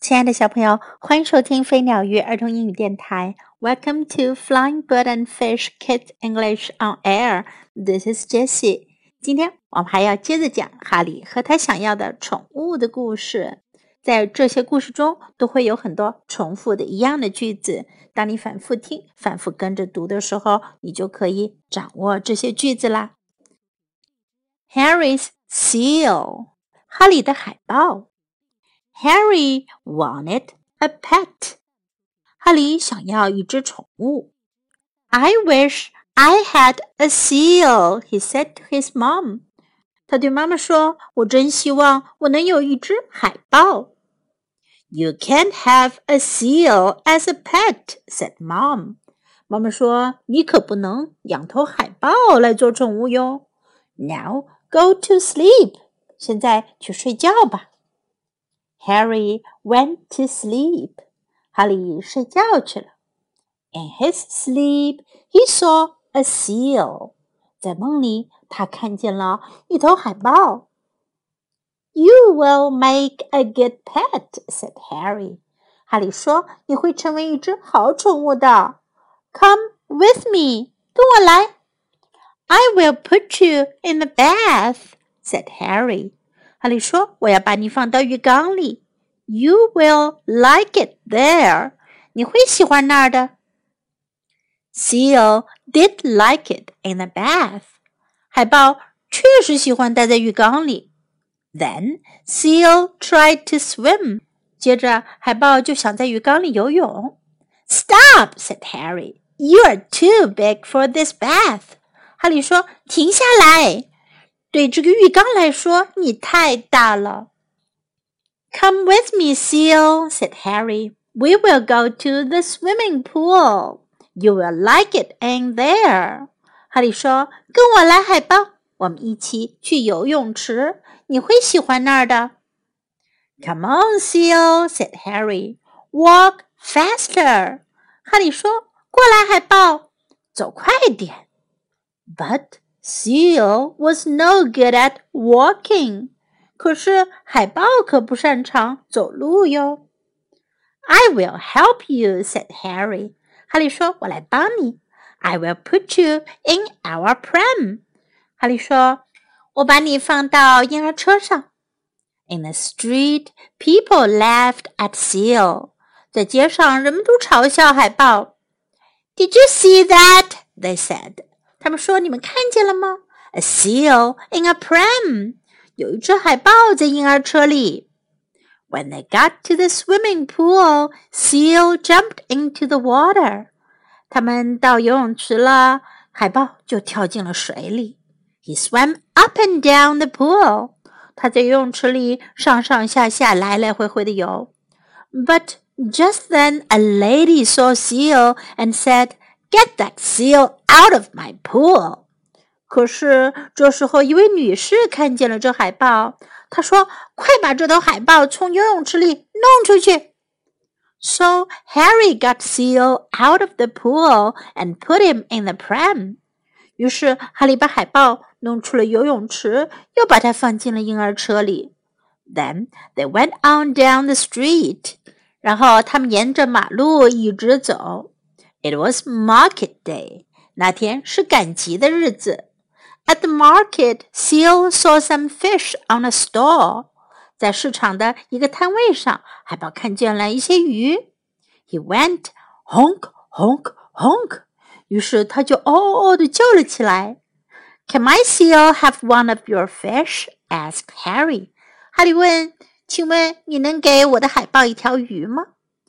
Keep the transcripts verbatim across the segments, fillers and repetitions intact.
亲爱的小朋友，欢迎收听飞鸟鱼儿童英语电台。Welcome to Flying Bird and Fish Kids English on Air. This is Jessie. 今天我们还要接着讲哈利和他想要的宠物的故事。在这些故事中，都会有很多重复的一样的句子。当你反复听、反复跟着读的时候，你就可以掌握这些句子啦。Harry's seal. 哈利的海豹。Harry wanted a pet. 哈利想要一只宠物。I wish I had a seal, he said to his mom. 他对妈妈说，我真希望我能有一只海豹。You can't have a seal as a pet, said mom. 妈妈说，你可不能养头海豹来做宠物哟。Now go to sleep. 现在去睡觉吧。Harry went to sleep. 哈利睡觉去了。In his sleep, he saw a seal. 在梦里，他看见了一头海豹。You will make a good pet, said Harry. 哈利说，你会成为一只好宠物的。Come with me. 跟我来。I will put you in the bath, said Harry. 哈利说，我要把你放到浴缸里。You will like it there. 你会喜欢那儿的。Seal did like it in the bath. 海豹确实喜欢待在浴缸里。Then Seal tried to swim. 接着海豹就想在浴缸里游泳。Stop, said Harry. You are too big for this bath. 哈利说，停下来。对这个浴缸来说，你太大了。Come with me, Seal, said Harry. We will go to the swimming pool. You will like it in there. 哈利说，跟我来，海豹，我们一起去游泳池，你会喜欢那儿的。Come on, Seal, said Harry. Walk faster. 哈利说，过来，海豹，走快点。But Seal was no good at walking. 可是海豹可不擅长走路哟。I will help you, said Harry. 哈利说，我来帮你。I will put you in our pram. 哈利说，我把你放到婴儿车上。In the street, people laughed at Seal. 在街上，人们都嘲笑海豹。Did you see that? They said. 他们说，你们看见了吗？ A seal in a pram. 有一只海豹在婴儿车里。When they got to the swimming pool, Seal jumped into the water. 他们到游泳池了，海豹就跳进了水里。He swam up and down the pool. 他在游泳池里上上下下来来回回的游。But just then a lady saw Seal and said, Get that seal out of my pool. 可是这时候一位女士看见了这海豹，她说，快把这头海豹从游泳池里弄出去。So Harry got Seal out of the pool and put him in the pram. 于是哈利把海豹弄出了游泳池，又把它放进了婴儿车里。Then they went on down the street. 然后他们沿着马路一直走。It was market day. 那天是赶集的日子。At the market, Seal saw some fish on a stall. 在市场的一个摊位上，海豹看见了一些鱼。He went honk, honk, honk. 于是他就哦哦哦地叫了起来。Can my seal have one of your fish? asked Harry. 哈利问，请问你能给我的海豹一条鱼吗？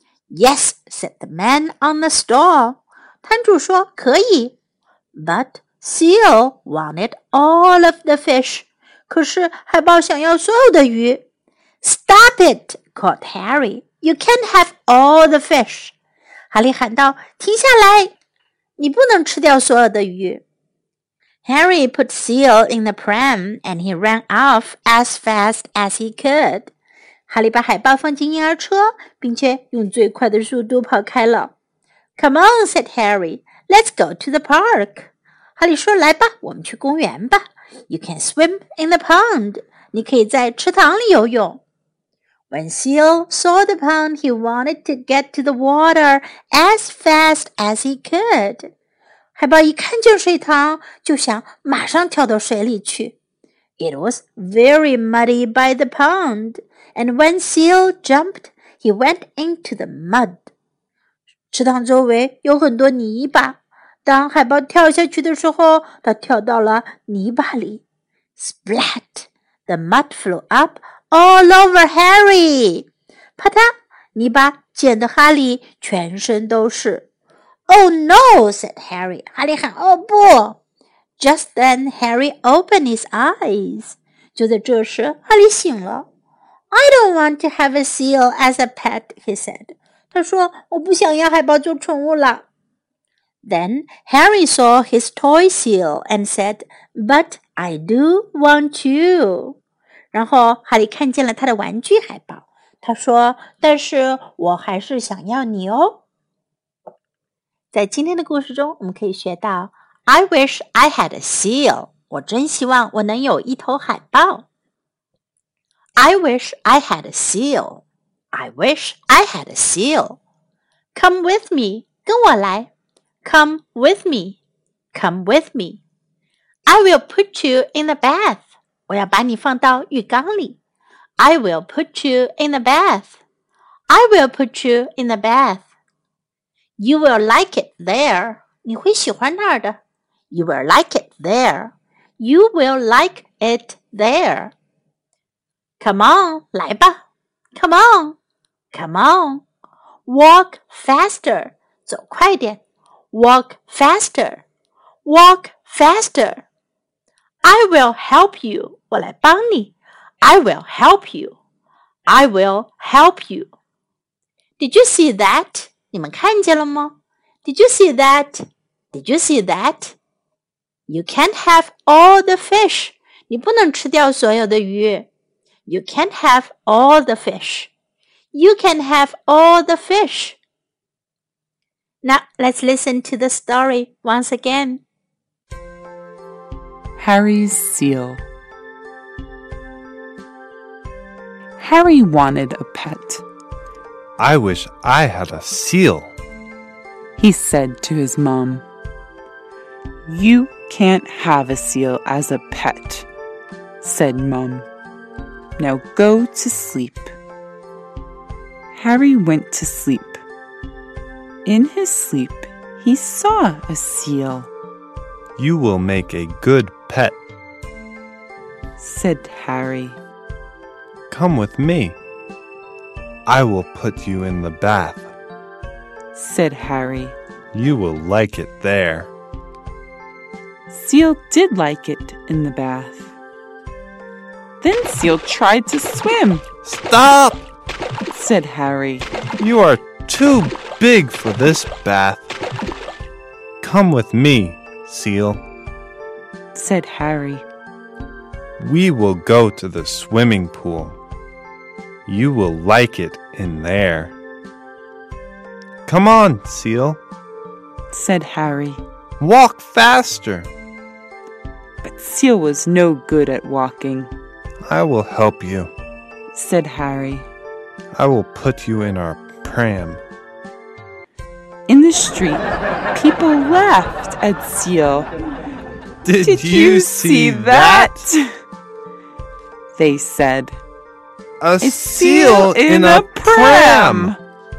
Yes, said the man on the stall. 摊主说，可以。But Seal wanted all of the fish. 可是海豹想要所有的鱼。Stop it, called Harry. You can't have all the fish. 哈利喊道，停下来，你不能吃掉所有的鱼。Harry put Seal in the pram and he ran off as fast as he could. 哈利把海豹放进婴儿车，并且用最快的速度跑开了。Come on, said Harry. Let's go to the park. 哈利说，来吧，我们去公园吧。You can swim in the pond. 你可以在池塘里游泳。 When Seal saw the pond, he wanted to get to the water as fast as he could. 海豹一看见水塘，就想马上跳到水里去。It was very muddy by the pond, and when Seal jumped, he went into the mud. 池塘周围有很多泥巴，当海豹跳下去的时候，他跳到了泥巴里。Splat! The mud flew up all over Harry. 啪嗒，泥巴溅得哈利全身都是。Oh no, said Harry. 哈利喊：“哦不！” Just then, Harry opened his eyes. 就在这时，哈利醒了。I don't want to have a seal as a pet, he said. 他说：“我不想要海豹做宠物了。” Then Harry saw his toy seal and said, "But I do want you." 然后哈利看见了他的玩具海豹，他说：“但是我还是想要你哦。”在今天的故事中，我们可以学到 I wish I had a seal. 我真希望我能有一头海豹。I wish I had a seal. I wish I had a seal. Come with me. 跟我来。Come with me. Come with me. I will put you in the bath. 我要把你放到浴缸里。I will put you in the bath. I will put you in the bath. You will like it there. 你会喜欢那儿的。You will like it there. You will like it there. Come on, 来吧。Come on. Come on. Walk faster. 走快点。Walk faster. Walk faster. I will help you. 我来帮你。I will help you. I will help you. Did you see that? 你们看见了吗？ Did you see that? Did you see that? You can't have all the fish. 你不能吃掉所有的鱼。You can't have all the fish. You can have all the fish. Now let's listen to the story once again. Harry's seal. Harry wanted a pet. I wish I had a seal, he said to his mom. You can't have a seal as a pet, said Mum. Now go to sleep. Harry went to sleep. In his sleep, he saw a seal. You will make a good pet, said Harry. Come with me. I will put you in the bath, said Harry. You will like it there. Seal did like it in the bath. Then Seal tried to swim. Stop, said Harry. You are too big for this bath. Come with me, Seal, said Harry. We will go to the swimming pool. You will like it in there. Come on, Seal, said Harry. Walk faster. But Seal was no good at walking. I will help you, said Harry. I will put you in our pram. In the street, people laughed at Seal. Did, Did you, you see, see that? that? They said. A, A seal in a pram!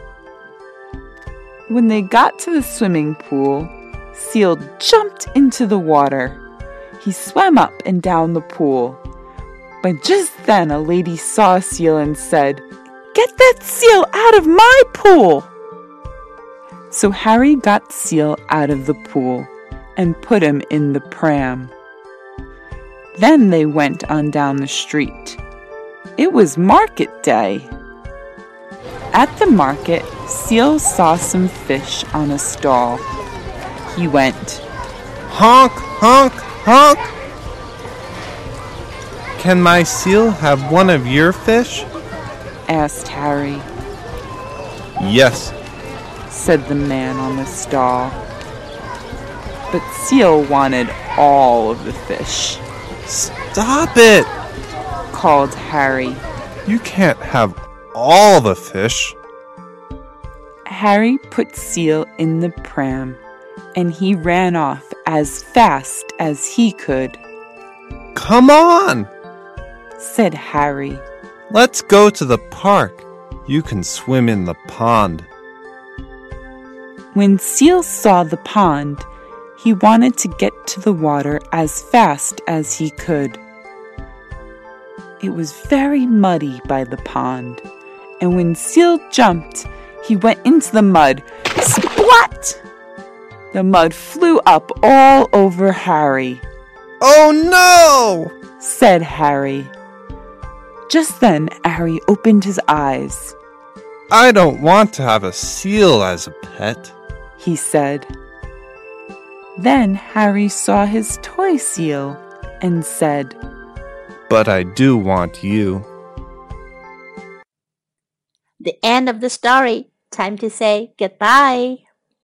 When they got to the swimming pool, Seal jumped into the water. He swam up and down the pool. But just then a lady saw Seal and said, "Get that seal out of my pool!" So Harry got Seal out of the pool and put him in the pram. Then they went on down the street. It was market day. At the market, Seal saw some fish on a stall. He went, Honk, honk, honk! Can my seal have one of your fish? asked Harry. Yes, said the man on the stall. But Seal wanted all of the fish. Stop it! Called Harry. You can't have all the fish. Harry put Seal in the pram, and he ran off as fast as he could. Come on, said Harry. Let's go to the park. You can swim in the pond. When Seal saw the pond, he wanted to get to the water as fast as he could. It was very muddy by the pond, and when Seal jumped, he went into the mud. Splat! The mud flew up all over Harry. Oh no! said Harry. Just then, Harry opened his eyes. I don't want to have a seal as a pet, he said. Then Harry saw his toy seal and said, But I do want you. The end of the story. Time to say goodbye.